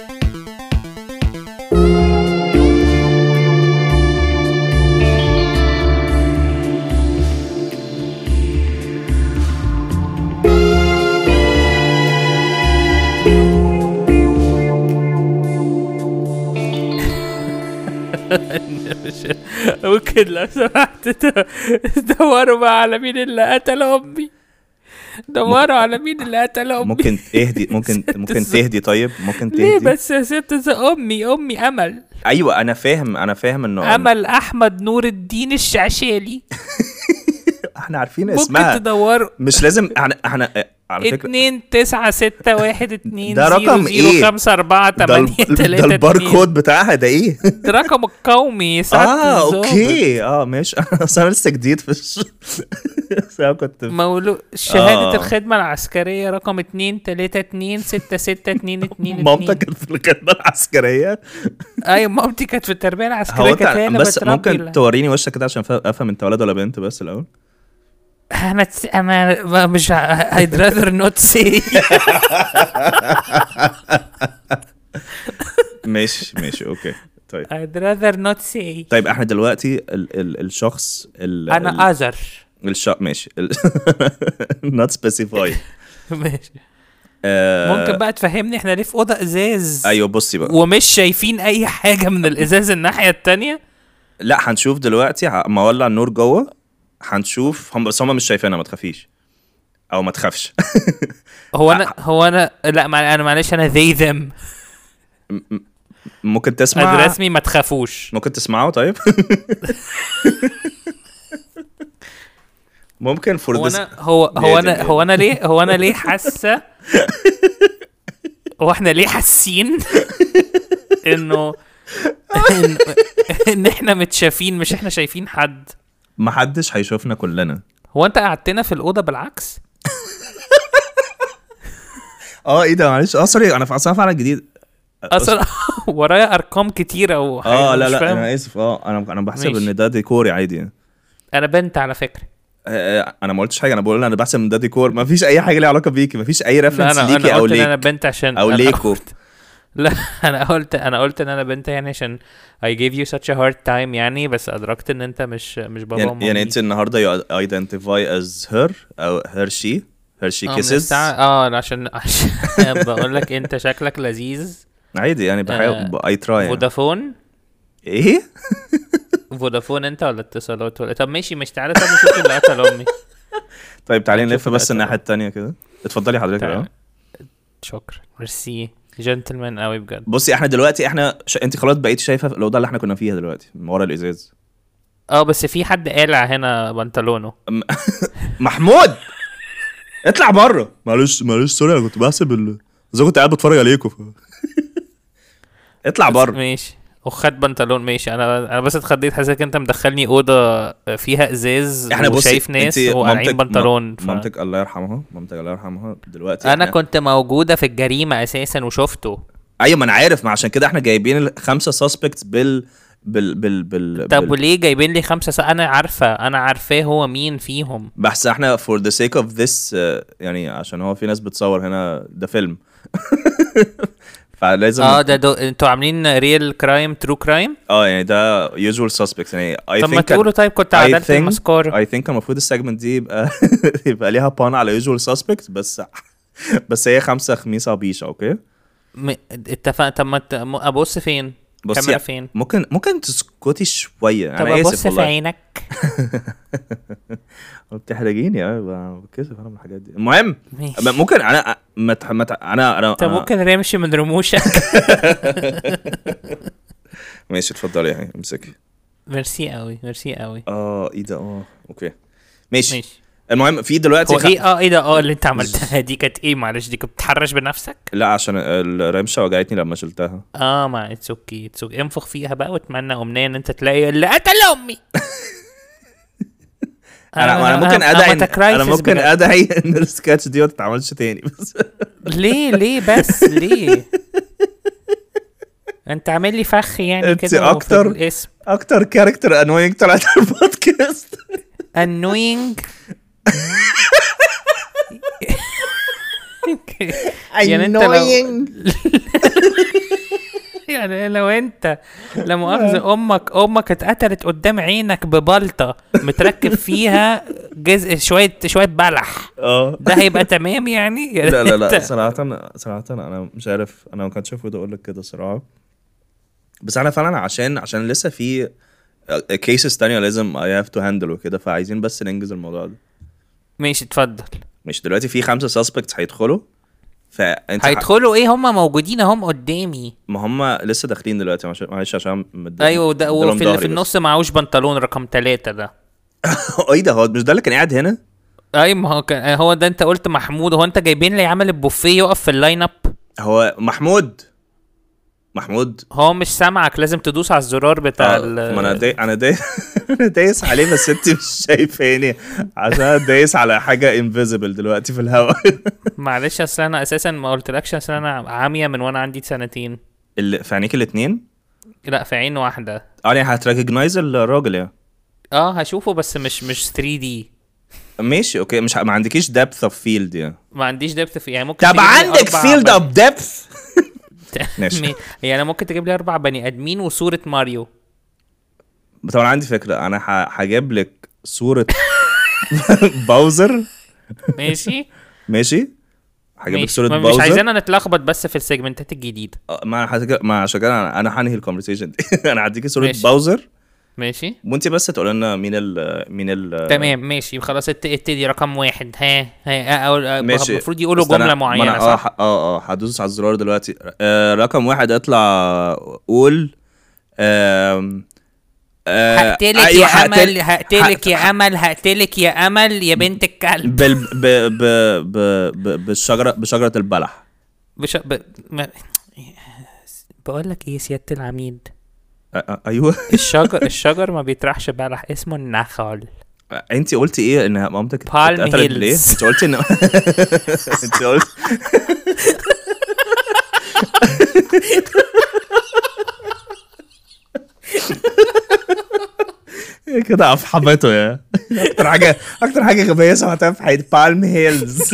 ممكن لو سمحت دوروا بقى على مين اللي قتل امي. دوروا على مين اللي قتل امي. ممكن تهدي ممكن ممكن تهدي طيب ممكن تهدي. ليه بس يا ست؟ امي امي امل. ايوه انا فاهم انا فاهم انه امل احمد نور الدين الشعشالي. احنا عارفين اسمها. ممكن تدوروا. مش لازم احنا احنا على فكرة اتنين تسعة ستة واحد اتنين ده رقم ايه؟ خمسة اربعة تمانية تلاتة. ده الباركود بتاعها ده ايه؟ ده رقم القومي. اه اوكي اه ماشي. انا لسه جديد في الش... كنت مولود شهادة آه. الخدمة العسكرية رقم اتنين تلاتة اتنين ستة ستة اتنين اتنين. مامتك كانت في الخدمة العسكرية؟ ايوه مامتي كانت في التربية العسكرية. كانت بس ممكن توريني وشك كده عشان افهم انت ولد ولا بنت بس الاول. انا تس... انا مش I'd rather not say. ماشي ماشي اوكي طيب. I'd rather not say. طيب احنا دلوقتي ال ال الشخص ال انا اذر الش ماشي ال... not specify. ماشي. ممكن بقى تفهمني احنا ليه في اوضه ازاز؟ ايوه بصي بقى، ومش شايفين اي حاجه من الازاز الناحيه التانية. لا هنشوف دلوقتي ما ولع النور جوه هنشوف هم، بس هم مش شايفينها، ما تخافيش او ما تخافش. هو انا هو انا لا ما انا معلش انا ذي ذم. ممكن تسمع رسمي ما تخافوش. ممكن تسمعوا طيب. ممكن فور هو انا هو هو انا هو انا ليه هو انا ليه حاسه هو احنا ليه حاسين انه إن, ان احنا متشافين مش احنا شايفين حد. ما حدش هيشوفنا كلنا. هو انت قعدتنا في الاوضه بالعكس؟ اه ايه ده معلش. اه سوري انا في اصلا فعلا جديد اصلا ورايا ارقام كتيره وحاجات. اه لا لا انا اسف. اه انا انا بحسب ان ده ديكوري عادي. انا بنت على فكره. آه، انا ما قلتش حاجه، انا بقول انا بحسب من ده ديكور، ما فيش اي حاجه ليها علاقه بيكي، ما فيش اي لا ريفرنس انا ليكي انا او قلت ان انا ليك بنت عشان او أنا ليكو. قلت- لا انا قلت انا قلت ان انا بنت يعني عشان I gave you such a hard time يعني، بس ادركت ان انت مش مش بابا يعني, ومامي. يعني انت النهارده you identify as her او her she her she اه من kisses. الساعة اه عشان عشان بقول لك انت شكلك لذيذ. عادي يعني بحاول آه، I try يعني. فودافون ايه فودافون انت ولا اتصالات ولا؟ طب ماشي مش تعالى، طب نشوف اللي قتل امي. طيب تعالي هنشوف نلف بس الأسئلة. الناحيه التانية كده. اتفضلي حضرتك. تعال. اه شكرا ميرسي جنتلمان قوي بجد. بصي احنا دلوقتي احنا ش... انت خلاص بقيتي شايفه الاوضه اللي احنا كنا فيها دلوقتي من ورا الازاز. اه بس في حد قالع هنا بنطلونه. محمود اطلع بره. معلش معلش سوري انا كنت بحسب ال... زي كنت قاعد بتفرج عليكم ف... اطلع بره. ماشي وخد بنطلون ماشي. انا انا بس اتخضيت، حسيت انت مدخلني اوضه فيها ازاز احنا بصي وشايف ناس انتي وقالعين مامتك- بنطلون ف... مامتك الله يرحمها مامتك الله يرحمها دلوقتي انا احنا... كنت موجوده في الجريمه اساسا وشفته. ايوه ما انا عارف، ما عشان كده احنا جايبين الخمسه سسبكتس بال بال بال بال, طب بال... وليه جايبين لي خمسه س... انا عارفه انا عارفاه هو مين فيهم. بس احنا for the sake of this uh, يعني عشان هو في ناس بتصور هنا ده فيلم فلازم اه ده دو... انتوا عاملين ريل كرايم ترو كرايم. اه يعني ده usual suspects يعني I طب ما think تقولوا طيب كنت I عدلت think المسكار. I think المفروض السيجمنت دي يبقى يبقى ليها بان على usual suspects بس بس هي خمسة خميسة بيشة اوكي. م... اتفق. طب ما ت... م- ابص فين بصي الكاميرا فين؟ ممكن ممكن تسكتي شوية. طب انا ابص اسف في والله عينك. بتحرجيني. بتحرجيني اه بتكسف انا من الحاجات دي. المهم ماشي. ممكن انا مت... مت... انا انا طب أنا- ممكن رمشي من رموشك. ماشي اتفضلي يعني امسكي. ميرسي قوي ميرسي قوي. اه ايه ده اه اوكي ماشي. ماشي. المهم في دلوقتي هو خ... ايه اه ايه ده اه اللي انت عملتها دي كانت ايه؟ معلش دي كنت بتحرش بنفسك. لا عشان الرمشه وجعتني لما شلتها. اه ما اتس اوكي اتس اوكي. انفخ فيها بقى واتمنى امنيه ان انت تلاقي اللي قتل امي. انا انا ممكن ادعي أنا إن- انا ممكن ادعي ان السكتش دي ما تتعملش تاني بس ليه ليه بس ليه؟ انت عامل لي فخ يعني انت كده في أكتر. الاسم اكتر كاركتر انوينج طلعت على البودكاست. annoying. يعني انت لو يعني لو انت لا مؤاخذة امك امك اتقتلت قدام عينك ببلطة متركب فيها جزء شوية شوية بلح، اه ده هيبقى تمام يعني؟ لا لا لا انت- صراحة صراحة انا مش عارف، انا ما كنتش المفروض اقول لك كده صراحة، بس انا فعلا عشان عشان لسه في كيسز تانية لازم I have to handle وكده، فعايزين بس ننجز الموضوع ده. ماشي اتفضل. مش دلوقتي في خمسة سسبكتس هيدخلوا، فانت هيدخلوا ايه؟ هم موجودين هم قدامي. ما هم لسه داخلين دلوقتي معلش معلش عشان مديلهم- ايوه ده مديلهم وفي اللي ظهري في بس. النص معهوش بنطلون رقم ثلاثة ده. ايه ده؟ هو مش ده اللي كان قاعد هنا؟ اي ما هو كان هو ده. انت قلت محمود، هو انت جايبين لي عمل البوفيه يقف في اللاين اب؟ هو محمود محمود هو مش سامعك، لازم تدوس على الزرار بتاع آه، ال ما انا داي... انا داي... انا دايس عليه بس انت مش شايفاني عشان أنا دايس على حاجه انفيزبل دلوقتي في الهواء. معلش اصل انا اساسا ما قلتلكش، اصل انا عاميه من وانا عندي سنتين. اللي في عينيك الاثنين؟ لا في عين واحده. اه يعني هتريكوجنايز الراجل يعني؟ اه هشوفه بس مش مش ثري دي. ماشي اوكي. مش ه... ما عندكيش depth of field يعني؟ ما عنديش دبث في يعني ممكن طب تجيب لي عندك أربع field بني- of depth. ماشي. يعني ممكن تجيب لي اربع بني ادمين وصوره ماريو. طب انا عندي فكره، انا ه... هجيب لك صوره باوزر. ماشي ماشي هجيب لك ماشي. صوره ما- مش باوزر. عايزانا نتلخبط بس في السيجمنتات الجديده. آه، ما هتج... ما عشان كده انا انا هنهي الكونفرسيشن دي. انا هديكي صوره ماشي. باوزر ماشي وانت بس تقول لنا مين ال مين ال تمام ماشي خلاص. ات- ابتدي رقم واحد. ها ها او ماشي. المفروض يقولوا بس أنا- جمله ما معينه أنا اه صح؟ ح- اه اه هدوس على الزرار دلوقتي. آه رقم واحد اطلع قول. آم، آه هقتلك أيوة، يا هقتل- امل هقتلك يا امل هقتلك يا امل يا بنت الكلب. بال ب ب ب ب بالشجره بشجره البلح. بش... ب... ما... بقول لك ايه سياده العميد، آه آه ايوه. الشجر الشجر ما بيطرحش بلح، اسمه النخل. انت قلتي ايه ان مامتك Palm اتقتلت ليه؟ Hills. انت قلتي ان انت قلت كده افحمته يا اكتر حاجه اكتر حاجه غبيه سمعتها في حياتي بالم هيلز.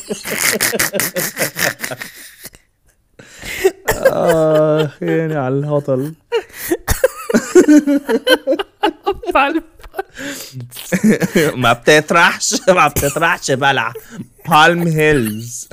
اه يعني على الهطل. ما بتطرحش ما بتطرحش بلع بالم هيلز.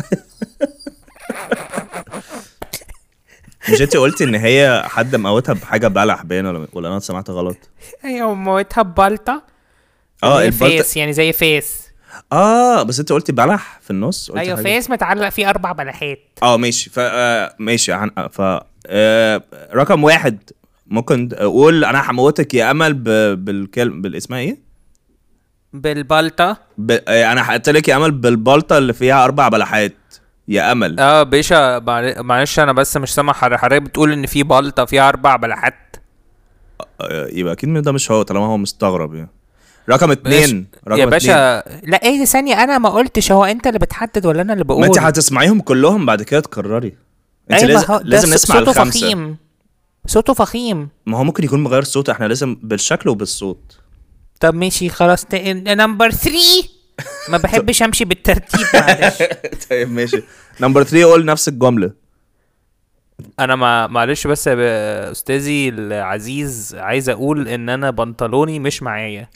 مش انتي قلتي ان هي حد موتها بحاجه بلح باين ولا ولا انا سمعت غلط؟ ايوه موتها ببلطه. اه زي البلطة. فيس يعني زي فيس. اه بس انت قلتي بلح في النص. قلتي ايوه حاجة. فيس متعلق فيه اربع بلحات. اه ماشي ف آه، ماشي عن... ف آه، رقم واحد ممكن اقول انا هموتك يا امل ب... بالكلم بالاسمها ايه؟ بالبلطه. ب... آه، انا هقتلك يا امل بالبلطه اللي فيها اربع بلحات يا امل. اه باشا معل- معلش انا بس مش سامع حضرتك. حضرتك بتقول ان في بلطه فيها اربع بلحات. آه، يبقى اكيد ده مش هو طالما هو مستغرب يعني. رقم اتنين رقم يا باشا لا ايه ثانيه انا ما قلتش. هو انت اللي بتحدد ولا انا اللي اتنين. بقول؟ ما انت هتسمعيهم كلهم بعد كده تكرري. انت أيوة لازم هو ده لازم ص- نسمع صوته الخمسه. فخيم. صوته فخيم. ما هو ممكن يكون مغير الصوت. احنا لازم بالشكل وبالصوت. طب ماشي خلاص. نمبر ثلاثة. ما بحبش امشي بالترتيب معلش. طيب ماشي. نمبر ثلاثة قول نفس الجمله. انا ما معلش بس يا ب- استاذي العزيز عايز اقول ان انا بنطلوني مش معايا.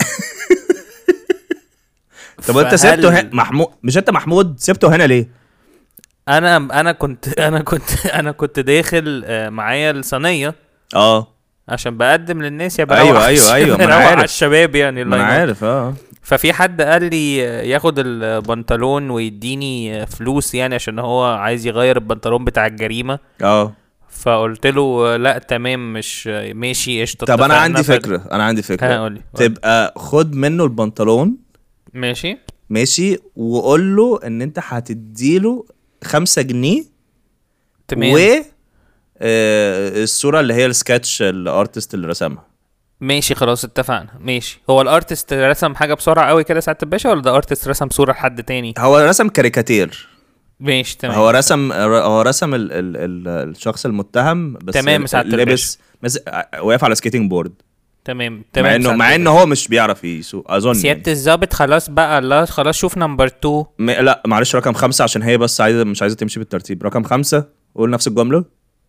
طب انت فهل- سبته هنا محمود؟ مش انت محمود سبته هنا ليه؟ انا انا كنت انا كنت انا كنت داخل آه، معايا الصينيه اه عشان بقدم للناس يا بروح أيوة، أيوة، أيوة، ما أنا بروح عارف. على الشباب يعني. ما الله انا ينور. عارف اه. ففي حد قال لي ياخد البنطلون ويديني فلوس يعني عشان هو عايز يغير البنطلون بتاع الجريمه. اه فقلت له لا تمام مش ماشي قشطه. طب انا اتفقنا. عندي ف- فكره انا عندي ها فكره قولي. تبقى خد منه البنطلون ماشي ماشي وقول له ان انت هتديله خمسة جنيه تمام. و آه، الصوره اللي هي السكتش الارتست اللي رسمها. ماشي خلاص اتفقنا. ماشي. هو الارتست رسم حاجه بسرعه قوي كده ساعه الباشا ولا ده ارتست رسم صوره لحد تاني؟ هو رسم كاريكاتير. ماشي تمام. هو رسم هو رسم ال... ال... ال... الشخص المتهم بس تمام، سعادة لابس مس... واقف على سكيتنج بورد. تمام تمام. مع انه سعادة مع انه الباشا. هو مش بيعرف يسوق اظن يعني. سيادة الظابط خلاص بقى. الله خلاص شوف نمبر اتنين. م... لا معلش رقم خمسة عشان هي بس عايزه مش عايزه تمشي بالترتيب. رقم خمسة قول نفس الجمله.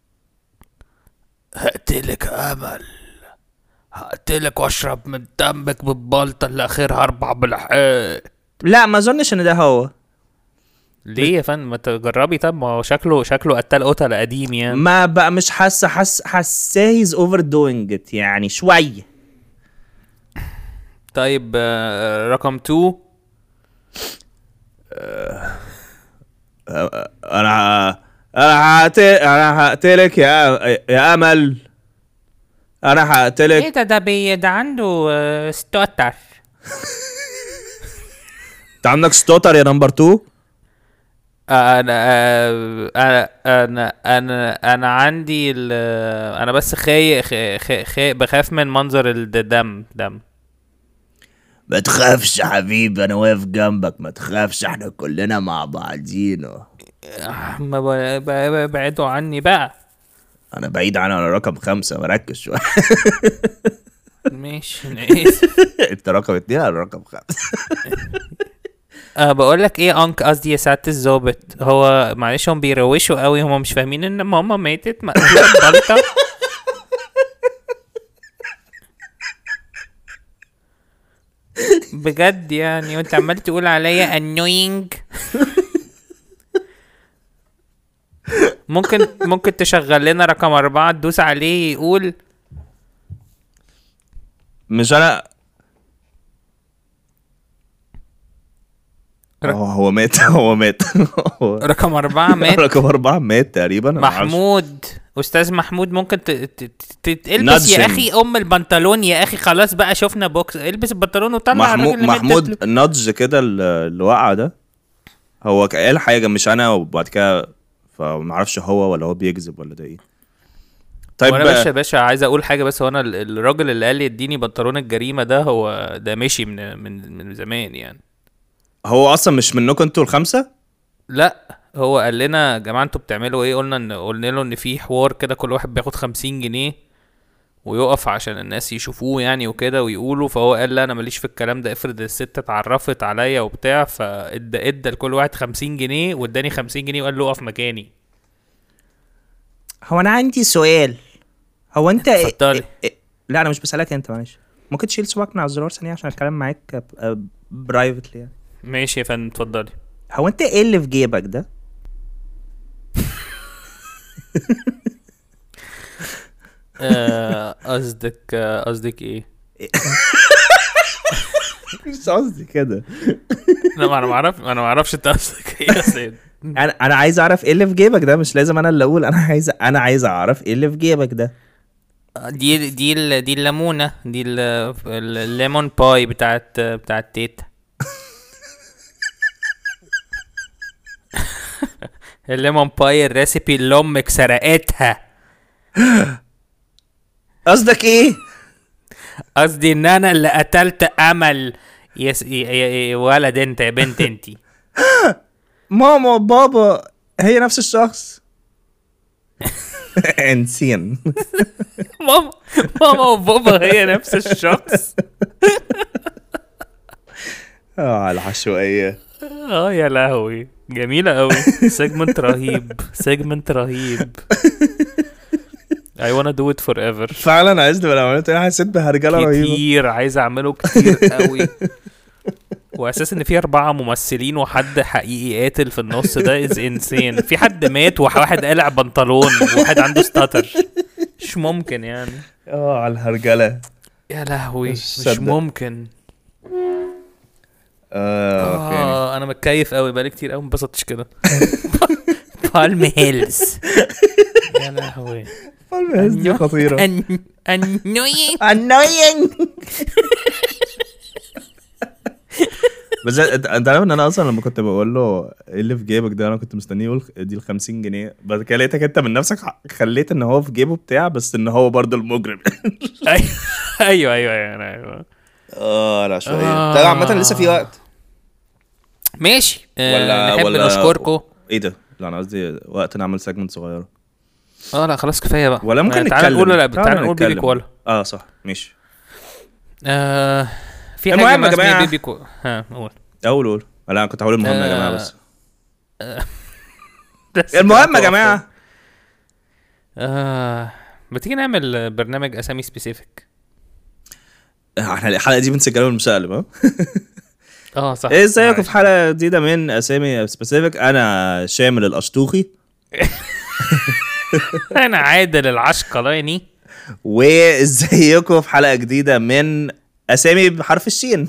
هقتلك امل. هقتلك واشرب من دمك بالبلطة اللي اخرها اربع بلحات. لا ما اظنش ان ده هو. ليه يا فندم؟ ما تجربي. طب ما هو شكله شكله قتال قتل قديم يعني. ما بقى مش حاسه حاسه حاسه هيز اوفر دوينج ات يعني شويه. طيب آه، رقم اتنين. انا ه... انا هقتل انا هقتلك يا يا امل. انا هقتلك. ايه ده ده بي ده عنده آه، ستوتر. انت عندك ستوتر يا نمبر اتنين. انا آه، انا انا انا انا عندي ال- انا بس خاي خاي خاي بخاف من منظر الدم دم. ما تخافش يا حبيبي انا واقف جنبك. ما تخافش احنا كلنا مع بعضينا. آه، ما ب- ب- بعدوا عني بقى. انا بعيد عن على رقم خمسة مركز شويه. ماشي انا اسف. انت رقم اتنين على رقم خمسة. أه بقول لك ايه انك قصدي يا سعاده الظابط. هو معلش هم بيروشوا قوي. هم مش فاهمين ان ماما ماتت مقتوله ببلطه. بجد يعني. وانت عمال تقول عليا annoying. ممكن ممكن تشغل لنا رقم أربعة تدوس عليه يقول مش انا ر- هو هو مات. هو مات. هو- رقم أربعة مات. رقم أربعة مات تقريبا. أنا معرفش. محمود أستاذ محمود ممكن ت- ت- ت- ت- تلبس يا نادجن. أخي أم البنطلون يا أخي. خلاص بقى شفنا بوكس. البس البنطلون وطلع محمود الراجل اللي مات ده. محمود نادج كده ال- اللي وقع ده. هو ك- قال حاجه مش انا وبعد كده فمعرفش هو ولا هو بيكذب ولا ده ايه. طيب وانا باشا باشا عايز اقول حاجه بس. هو انا ال- الراجل اللي قال لي اديني بنطلون الجريمه ده هو ده مشي من من من زمان يعني. هو اصلا مش منكم انتوا الخمسه. لا هو قال لنا يا جماعه انتوا بتعملوا ايه. قلنا ان قلنا له ان في حوار كده كل واحد بياخد خمسين جنيه ويقف عشان الناس يشوفوه يعني وكده ويقولوا. فهو قال لا انا ماليش في الكلام ده، افرض الست اتعرفت عليا وبتاع. فادى ادى لكل واحد خمسين جنيه واداني خمسين جنيه وقال له اقف مكاني. هو انا عندي سؤال. هو انت اتفضلي. إيه... لا انا مش بسألك انت، معلش ممكن تشيل صباعك من على الزرار ثانيه عشان اتكلم معاك برايفتلي يعني. ماشي يا فندم اتفضلي. هو انت ايه اللي في جيبك ده؟ قصدك قصدك ايه؟ مش قصدي كده. لا ما انا ما اعرف انا ما اعرفش انت قصدك ايه يا سيد. انا انا عايز اعرف ايه اللي في جيبك ده، مش لازم انا اللي اقول. انا عايز انا عايز اعرف ايه اللي في جيبك ده. دي دي ال- دي الليمونه دي ال- الليمون باي بتاعت بتاعت تيتا. الليمون باي الريسيبي اللي امك سرقتها. قصدك ايه؟ قصدي ان انا اللي قتلت امل. يس يا يا ولد انت يا بنت انتي. ماما بابا هي نفس الشخص. انسين. ماما ماما وبابا هي نفس الشخص. اه العشوائية. اه يا لهوي جميلة قوي. سيجمنت رهيب سيجمنت رهيب. I wanna do it forever. فعلا عايز لو عملت انا حسيت بهرجله رهيبه كتير عايز اعمله كتير قوي. واساس ان في اربعة ممثلين وحد حقيقي قاتل في النص ده از انسين. في حد مات وواحد قلع بنطلون وواحد عنده ستاتر. مش ممكن يعني. اه على الهرجله يا لهوي مش صدق. ممكن. اه فين اه انا متكيف قوي بقالي كتير قوي مبسطتش كده. بالم هيلز. يا لهوي الهز دي خطيره. انوينج annoying. بس انت انت عارف ان انا اصلا لما كنت بقول له ايه اللي في جيبك ده انا كنت مستنيه يقول دي ال خمسين جنيه، بعد كده لقيتك انت من نفسك خليت ان هو في جيبه بتاع بس ان هو برضه المجرم. ايوه ايوه ايوه ايوه. اه لا شويه. ده عامه لسه في وقت ماشي. ولا نحب ولا نشكركم. ايه ده؟ لا انا قصدي وقت نعمل سيجمنت صغيره. اه لا خلاص كفايه بقى. ولا ممكن تعال نتكلم. نقول لا تعال تعال نقول نتكلم. بيبي كوالا. اه صح ماشي. آه في المهم حاجه يا ما اسمها جماعة. بيبي كوالا. ها قول. اقول قول لا انا كنت هقول المهم يا جماعه بس. بس المهم يا كده جماعه. اه بتيجي نعمل برنامج اسامي سبيسيفيك. احنا الحلقه دي بنسجلها المسالم ها. اه صح. ايه ازيكم في حلقه جديده من اسامي سبيسيفيك. انا شامل الاشطوخي. انا عادل العشقلاني. وازيكم في حلقه جديده من اسامي بحرف الشين.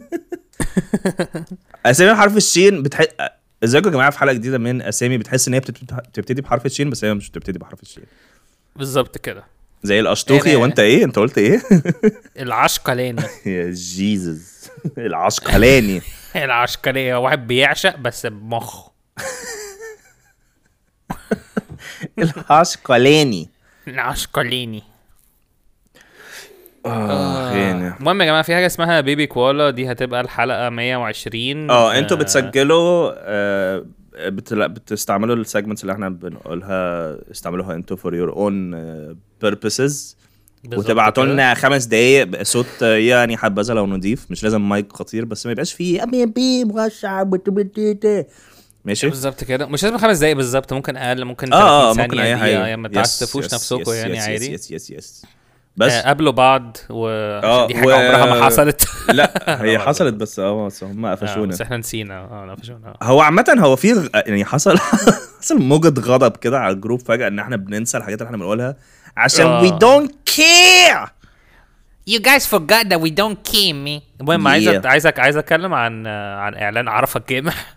اسامي بحرف الشين بتح... ازيكم يا جماعه في حلقه جديده من اسامي بتحس ان هي بتبتدي بحرف الشين بس هي مش بتبتدي بحرف الشين. بالظبط كده زي الاشطوخي. أنا- وانت ايه؟ انت قلت ايه؟ العشقلاني. يا جيزس. العشقلاني. العشقلاني واحد بيعشق بس بمخ. العشقلاني. العشقلاني. اه يعني المهم يا جماعه في حاجه اسمها بيبي كوالا. دي هتبقى الحلقه مية وعشرين. اه انتوا بتسجلوا آه بت... بتستعملوا السيجمنتس اللي احنا بنقولها استعملوها انتوا for your own uh, purposes. وتبعتوا لنا خمس دقايق بصوت يعني حبذا لو نضيف، مش لازم مايك خطير بس ما يبقاش فيه ابي بي مغشع بتبتدي. ماشي بالظبط كده. مش لازم خمس دقايق بالظبط، ممكن اقل، ممكن اه ثلاثين ممكن ثانيه اي دقيقه حاجه يعني. ما تعسفوش نفسكم يعني عادي. يس يس يس بس آه قابلوا بعض و آه دي حاجه و... عمرها ما حصلت. لا هي حصلت بس اه هم قفشونا. بس احنا نسينا. اه قفشونا. هو عامه هو في يعني حصل حصل موجة غضب كده على الجروب فجأة ان احنا بننسى الحاجات اللي احنا بنقولها عشان آه. we don't care. You guys forgot that we don't care me. المهم Yeah. عايز عايزك عايز اتكلم عن عن اعلان عرفة الجامح.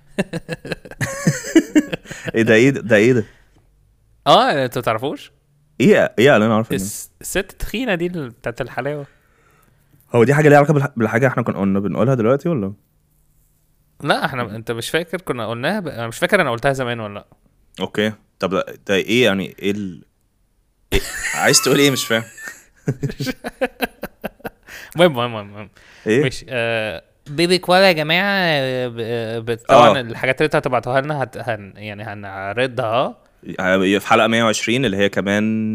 ايه ده ايه ده ده ايه ده اه انتوا تعرفوش ايه ايه انا عارف الس- الست التخينه دي اللي بتاعت الحلاوه. هو دي حاجه ليها علاقه بالح- بالحاجه احنا كنا قلنا بنقولها دلوقتي ولا لا احنا انت مش فاكر كنا قلناها ب... انا مش فاكر انا قلتها زمان ولا لا. اوكي طب ده, ده ايه يعني ايه, ال... إيه؟ عايز تقول ايه مش فاهم المهم المهم المهم ايه مش آه بيبي كوالا يا جماعة. آه، ب- آه، ب- طبعا آه. الحاجات اللي انتوا هتبعتوها لنا هت... هن... يعني هنعرضها في حلقه مية وعشرين اللي هي كمان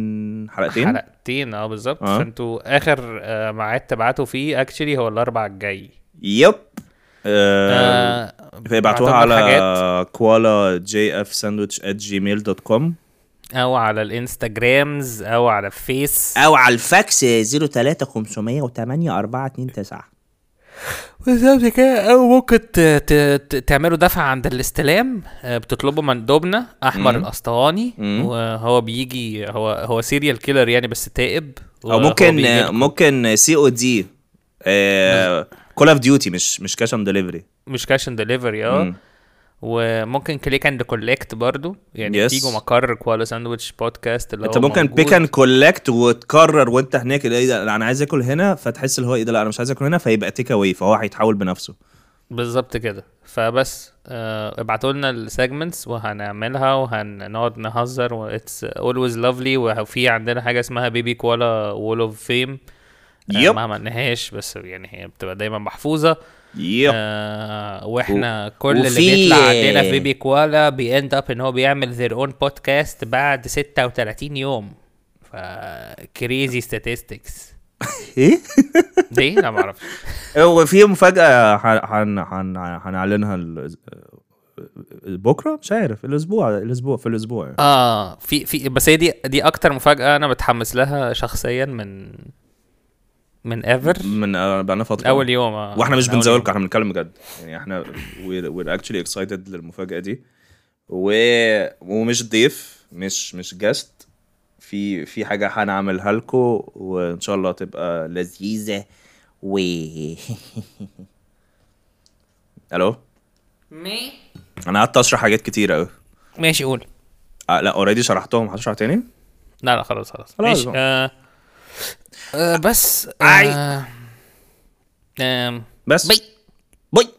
حلقتين حلقتين حلقتين اه بالظبط. آه. فانتوا اخر آه ميعاد تبعتوا فيه اكشلي هو الاربع الجاي. يب آه آه فيبعتوها بعتوا لنا على حاجات. كوالا جي اف ساندويتش ات جيميل دوت كوم او على الانستجرامز او على الفيس او على الفاكس صفر تلاتة خمسمية وتمانية أربعة اتنين تسعة. بالظبط كده. او ممكن ت- ت- ت- تعملوا دفع عند الاستلام. آه، بتطلبوا مندوبنا احمر مم. الاسطواني، مم. وهو بيجي هو هو سيريال كيلر يعني بس تائب. او وهو ممكن بيجيلكوا. ممكن سي او دي كول اوف ديوتي مش مش كاش اون ديليفري. مش كاش اند ديليفري اه. وممكن كليك اند كولكت برضو يعني. Yes. تيجوا مقر كوالا ساندويتش بودكاست اللي انت هو ممكن موجود. بيك اند كولكت وتقرر وانت هناك ايه ده لا انا عايز اكل هنا، فتحس اللي هو ايه ده لا انا مش عايز اكل هنا، فيبقى تيك اواي، فهو هيتحول بنفسه. بالظبط كده. فبس آه ابعتوا لنا السيجمنتس وهنعملها وهنقعد نهزر و it's always lovely. وفي عندنا حاجه اسمها بيبي كوالا وول اوف فيم يب. ما عملناهاش بس يعني هي بتبقى دايما محفوظه. يب. آه واحنا و- كل اللي وفي- بيطلع عندنا في بيبي كوالا بيند اب ان هو بيعمل their own podcast بعد ستة وتلاتين يوم. ف crazy statistics. ايه دي لا ما اعرفش. هو في مفاجاه هن هن هنعلنها ال- بكره مش عارف الاسبوع الاسبوع في الاسبوع يعني. اه في في بس هي دي دي اكتر مفاجاه انا متحمس لها شخصيا من من ايفر من آه، بقالنا فتره اول يوم. آه واحنا مش من أول بنزولكم، يوم. احنا بنتكلم بجد يعني. احنا we're, we're actually excited للمفاجاه دي و... ومش ضيف مش مش جاست في في حاجه هنعملها لكم وان شاء الله تبقى لذيذه و الو مي انا قعدت اشرح حاجات كتير قوي. ماشي قول. آه لا اوريدي شرحتهم، هشرح تاني. لا لا خلاص خلاص خلاص ماشي. بقى. آه آه بس أي. آه آم، بس بي باي